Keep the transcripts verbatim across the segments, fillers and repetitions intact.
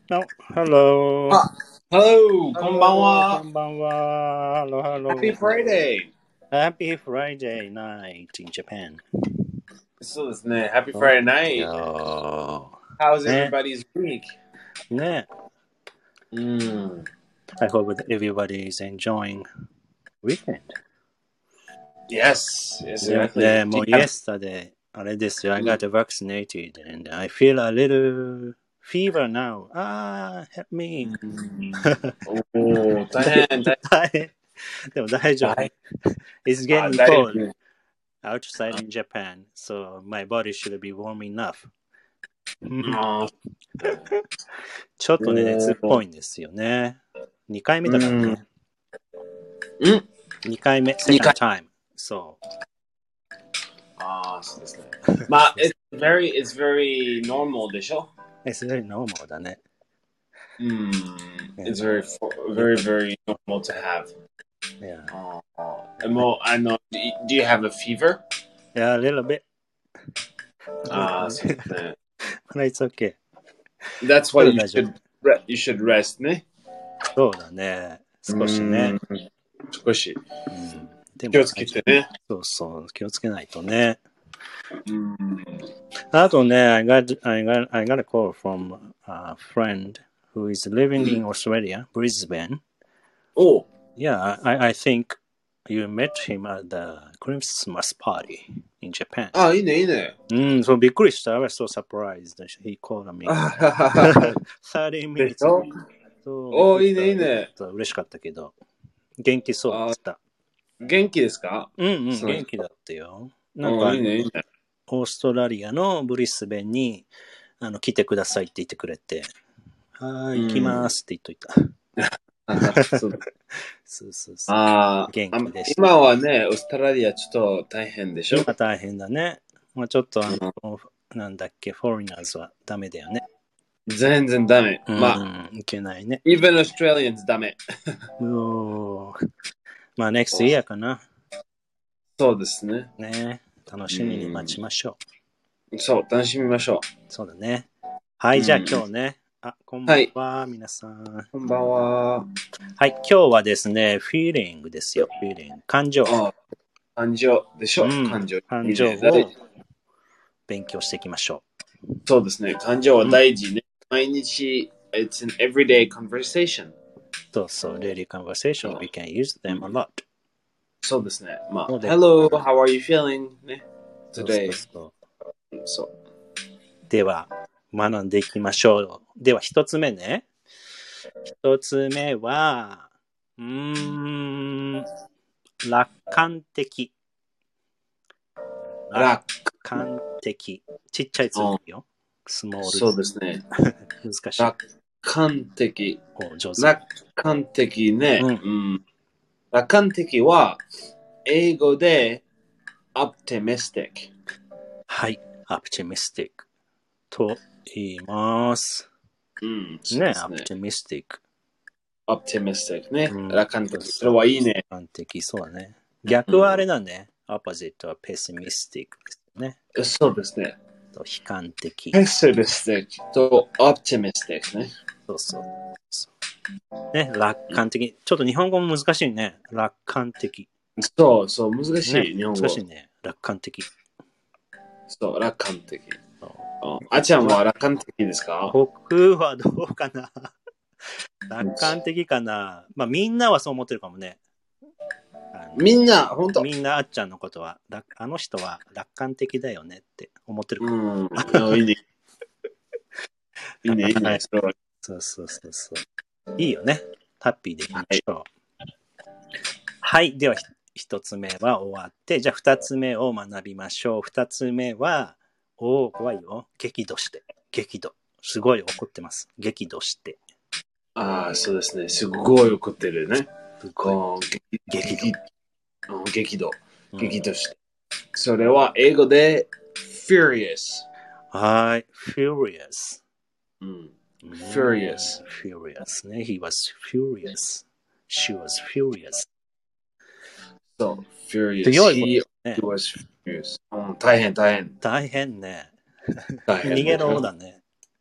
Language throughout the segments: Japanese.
No, hello. あ、Hello! こんばん Hello, は。 こんばんは。Hello, hello. Happy Friday! Happy Friday night in Japan. そうですね。Happy そう Friday night! よ How's ね。 everybody's week? ね。 うん。 I hope that everybody is enjoying weekend. Yes, yes, で、 exactly. で Do も you う have- yesterday, あれですよ。I うん got vaccinated and I feel a little fever now. Ah, help me. おー、大変、大大変。でも大丈夫。 変。 It's あ、 getting 大 cold 変。 outside in Japan, so my body should be warm enough. あちょっとね、熱っおーぽいんですよね。にかいめだからね。 うん。 にかいめ、 にか second い time. そああ、そうですね。まあ、it's very, it's very normal でしょう。It's very normal だね。 うん。 Yeah. It's very, very, very normal to have. Yeah. あーもう、あの、do you- do you have a fever? Yeah, a little bit. ああ、そうですね。 But it's okay. That's け why ど you 大丈夫。 should, re- you should rest ね。 そうだね。少しね。 うん。少し。 うん、でも気をつけてね。 そうそう、気をつけないとね。 うん。 あとね、I got, I got, I got a call from a friend who is living in Australia, Brisbane. おう。 Yeah, I, I think you met him at the Christmas party in Japan. あ、いいね、いいね。 うん、そう、びっくりした。I was so surprised that he called me. あははは thirty で minutes. しょそう、 おー、いいびっくりした。 ね、いいね。 そう嬉しかったけど。元気そうであ、 した。 元気ですかうんうん、 その元気だったよ。なんか、 おー、いいね、いいね。 オーストラリアのブリスベンにあの来てくださいって言ってくれて、はーい、行きますって言っといた。 そうそうそうそう。 あ元気であ、 した。 今はね、オーストラリアちょっと大変でしょ今大変だね。まあちょっとあの、なんだっけ、フォーリナーズはダメだよね。 全然ダメ。 うん、 まあ、 いけないね。 even Australians ダメ。 おーまあ next year かな。 そうですね。 ね。楽しみに待ちましょう。 そう、楽しみましょそうだね。はい、じゃあ今日ね。あ、こんばんは、皆さん。 う。こんばんは。 はい、今日はですね、feeling ですよ、feeling。感情。 あ、感情でしょ、 うん感情。 感情を勉強していきましょう。そうですね。感情は大事ね。毎日、it's an everyday conversation. そうそう、daily conversation, we can use them a lot. そうですね。まあ、 そうです Hello, how are you feeling? ね。 そう Today. そうそうそう。 では、学んでいきましょう。では、一つ目ね。一つ目は、うーん、楽観的。 楽観的。ちっちゃいつもりよ。スモール。 そうですね。 難しい。 楽観的。 お上手。 楽観的ね。 うんうん楽観的は、英語で optimistic。 はい、optimistic と言います。 うん、 ね、optimistic。 optimistic ね。 うん楽観的。それはいいね。 楽観的、そうだね。逆はあれだね。opposite は pessimistic ですね。 そうですね。 と悲観的。 pessimistic と optimistic ね。 そうそう。そうね、楽観的。ちょっと日本語も難しいね。楽観的。 そうそう、難しい、 ね、 日本語。 難しいね。楽観的。 そう、楽観的。あちゃんは楽観的ですか？ 僕はどうかな楽観的かな。まあみんなはそう思ってるかもね。 みんな、本当みんなあっちゃんのことは、あの人は楽観的だよねって思ってるかも。うん、いいね。いいね、いいね。はい、 そうそうそうそう。いいよね。ハッピーでいきましょう。はい、はい、では一つ目は終わって、じゃあ二つ目を学びましょう。二つ目は、おお、怖いよ。激怒して。激怒。すごい怒ってます。激怒して。 ああ、そうですね。すごい怒ってるね。 すごい。 激怒。激怒。激怒して。それは英語で furious。 はい。furious。 うん。furious。 furious ね。He was furious. She was furious. そう、furious。 強いことね。 He was furious。うん、大変、大変。 大変ね。 大変。 逃げろだね。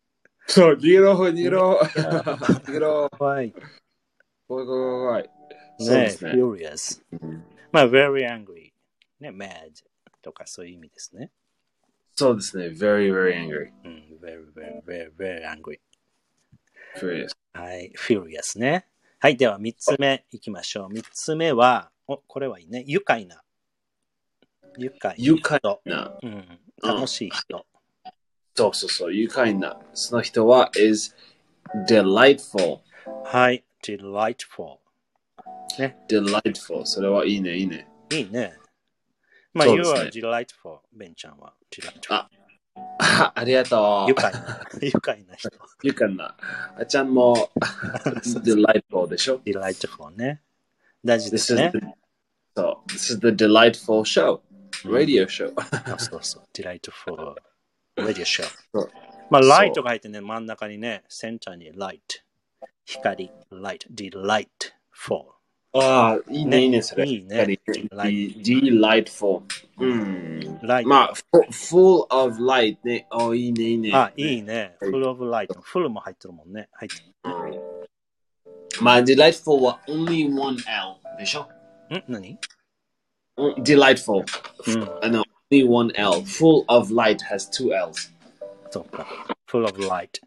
そう、逃げろ、逃げろ。逃げろ。 怖い。 怖い、怖い、怖い。そうねですね。 furious。まあ、very angry。ね、mad とかそういう意味ですね。 そうですね。very, very angry. うん、very, very, very, very angry。 furious. はい、furious ね。はい、ではみっつめいきましょう。みっつめは、お、これはいいね。愉快な。愉快愉快な人。 な。 うん、楽しい人。 そうそうそう。愉快な。その人は is delightful. はい、delightful。ね。 delightful. それはいいね、いいね。 いいね。まあ、 そう you です are ね。 delightful。ベンちゃんは delightful。 あ、あありがとう。 愉快な。愉快な人。 愉快な。あちゃんも delightful でしょ delightful ね。大事で This す is ね。 the, so, this is the delightful show. うん Radio show. あそうそう。delightful radio show。 そうまあ、 そうライトが入ってね、真ん中にね、センターにライト。光、light、delightful。 ああ、いいね、 ねいいね、それ。 いいね De- delightful. うん。 ライト。 まあ、fu- full of light ね。あいいね、いいね。 あ、いいね。 ね full of light。full も入ってるもんね。入ってまあ、delightful は only one L でしょる。ん何 delightful. うん。 あの、only one L. Full of light has two L's. そうか。full of light。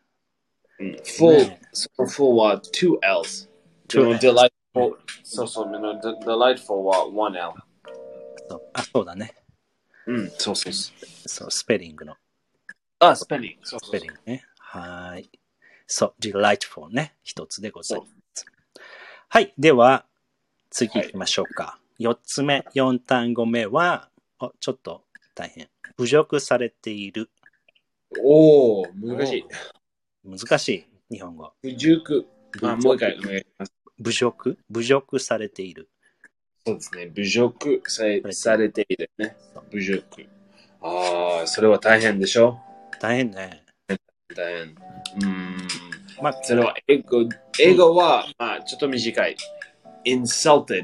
full, ね full は two L's. two でも L's delightful, そうそう、でも delightful は one L. そうあ、そうだね。 うん、そうそうそう。 そう、スペリングの。 あ、スペリング。そうスそうペリングね。はーい。そう、delightful ね。一つでございます。はい。では、次行きましょうか。四、はい、つ目、四単語目は、おちょっと大変。侮辱されている。 おー、難しい。 難しい、日本語。 侮辱。あ、もう一回お願いします。 侮辱侮辱されている。 そうですね。侮辱されされているね。侮辱。ああ、それは大変でしょ大変ね。 大変。うん。 まあ、 それは英語、英語は、まあ、ちょっと短い。insulted。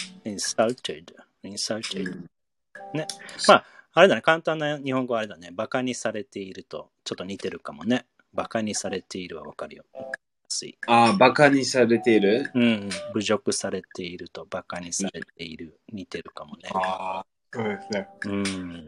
insulted。insulted。うん、ね。まあ、あれだね。簡単な日本語はあれだね。バカにされていると、ちょっと似てるかもね。バカにされているはわかるよ。 ああ、バカにされているうん。侮辱されていると、バカにされている。似てるかもね。 ああ、そうですね。 うん。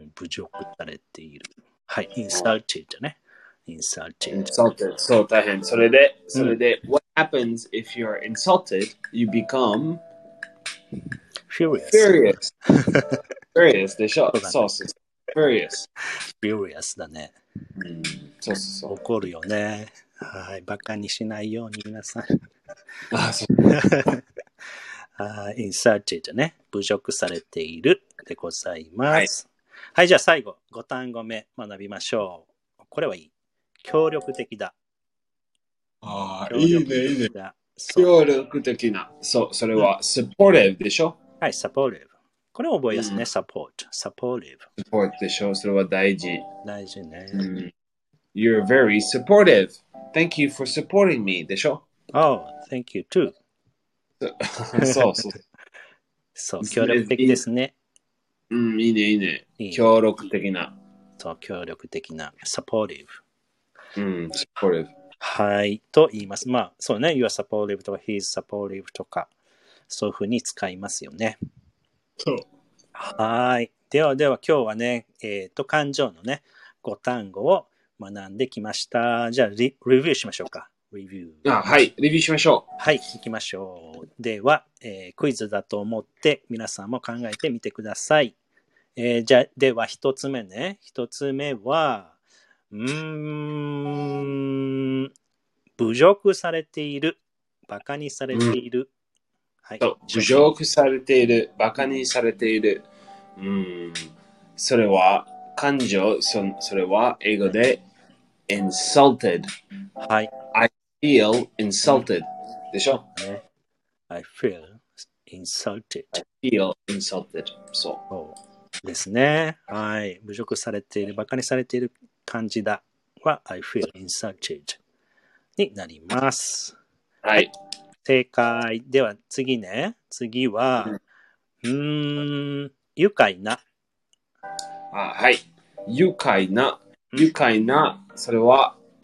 侮辱されている。はい。insulted ね。insulted。 insulted。そう、大変。それで、それで、うん、what happens if you're insulted? You become furious. furious. furious でしょ。そうそう。furious. furious だね。 うん、そうそうそう。 怒るよね。はい。バカにしないように皆さん。 あ、そう。 はい。insulted ね。侮辱されているでございます。はい、はい、じゃあ最後、ご単語目学びましょう。これはいい。協力的だ。 ああ、いいね、いいね。 協力的な。そう、それは supportive でしょ、 うん、はい、supportive。これ覚えやすね、うん、support。supportive。 support でしょ、それは大事。 大事ね。 うん、You're very supportive. Thank you for supporting me でしょ Oh, thank you too. そうそう。 そう、協力的ですね。 うん、いいね、いいね。いい協力的な。 そう、協力的な。supportive。 うん、supportive。 はい、と言います。まあ、そうね、you are supportive とか he is supportive とか、そういうふうに使いますよね。 そう。 はい。ではでは今日はね、えっと、感情のね、ご単語を学んできました。じゃあリ、レビューしましょうか。レビュー。 あ、はい。レビューしましょう。 はい、行きましょう。では、えー、クイズだと思って皆さんも考えてみてください。えー、じゃあ、では一つ目ね。一つ目は、うーん、侮辱されている。バカにされている。うんはい、 侮辱されている。バカにされている。うん。それは、感情、そ, それは英語で insulted。 はい。 I feel insulted、うん、でしょ、 ね、I feel insulted. I feel insulted. そう。 そうですね。はい。侮辱されている、バカにされている感じだは I feel insulted になります。 はい。はい正解。では次ね。次は、うーん、愉快な。 あはい。愉快な。愉快な。それは、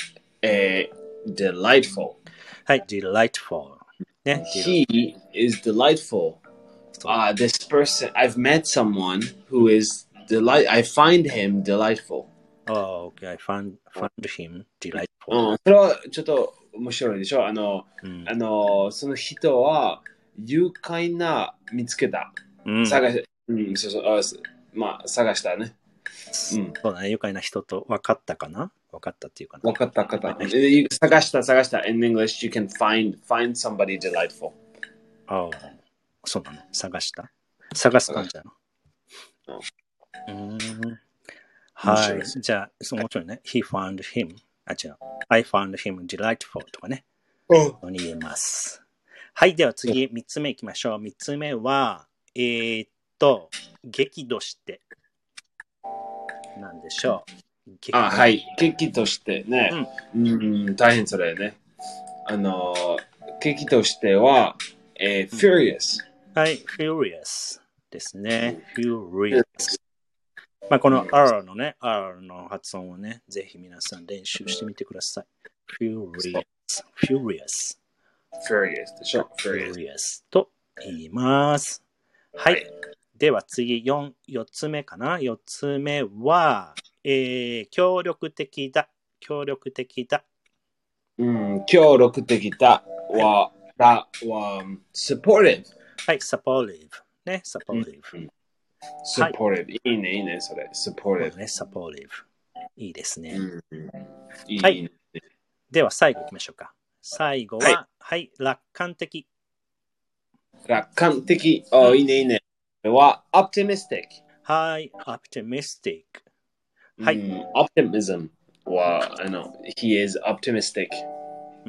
えー、delightful。 はい、delightful。ね。 He is delightful. Ah, this person, I've met someone who is delight. I find him delightful. Oh, okay. I found, found him delightful. うん、それはちょっと面白いでしょ。あの、 うん、 あの、その人は愉快な見つけた。 うん、 探し、うん、そうそう、あまあ、探したね。うん。 そうだね。愉快な人と分かったかな分かったっていうかな。 分かった、分かった。え探した、探した。In English, you can find, find somebody delightful. ああ、そうなの。探した探す感じなの。うん。はい。じゃあ、そう面白いね。He found him. あ、違う。I found him delightful とかね。こに言えます。はい。では次、三つ目いきましょう。三つ目は、えー、っと、激怒して。なんでしょう。 あ、はい。激としてね。うん、うん大変それね。あの、激としては、えー、furious。 はい。furious ですね。furious。まあ、この R のね、R の発音をね、ぜひ皆さん練習してみてください。furious。furious。 furious でしょ furious と言います。はい。では次、四、四つ目かな。四つ目は、えー、協力的だ。協力的だ。 うん、協力的だは、だは、supportive。 はい、supportive。ね、supportive。 うん、supportive、はい。いいね、いいね、それ。supportive。 ね、supportive。いいですね。 うん、いいね、 はい。では最後行きましょうか。最後は、はい、はい、楽観的。 楽観的。あ、うん、いいね、いいね。これは、optimistic。 はい、optimistic。はい。 うん、optimism は、あの、he is optimistic。 うん。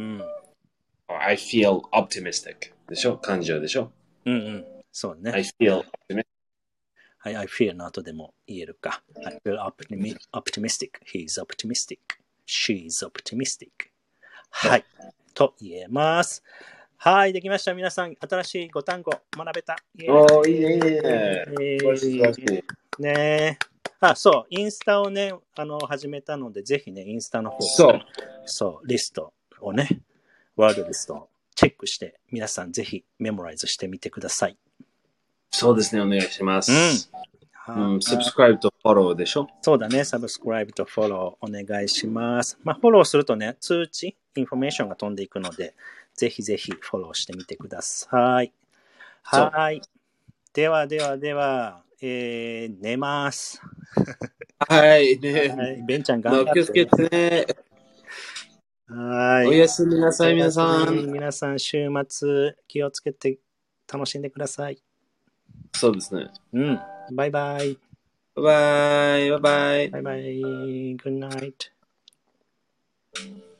I feel optimistic でしょ感情でしょうんうん。そうね。 I feel optimistic. はい、I feel の後でも言えるか。I feel optimi- optimistic. He's optimistic. She's optimistic. はい。と言えます。はい、できました。皆さん、新しいご単語学べた。 おー、いいね、いいね。えー、 ねあ、そう、インスタをね、あの、始めたので、ぜひね、インスタの方そう。 そう、リストをね、ワードリストをチェックして、皆さんぜひメモライズしてみてください。 そうですね、お願いします。うん。うん、subscribe と follow でしょそうだね、subscribe と follow お願いします。まあ、フォローするとね、通知、インフォメーションが飛んでいくので、ぜひぜひフォローしてみてください。はい。ではではでは、えー、寝ます。 はい、ね。 はい。ベンちゃん頑張って。 気をつけてね。 はい。 おやすみなさい、皆さん。 皆さん、週末気をつけて楽しんでください。 そうですね。 うん。バイバイ。 バイバイ。バイバイ。 バイバイ。Good night.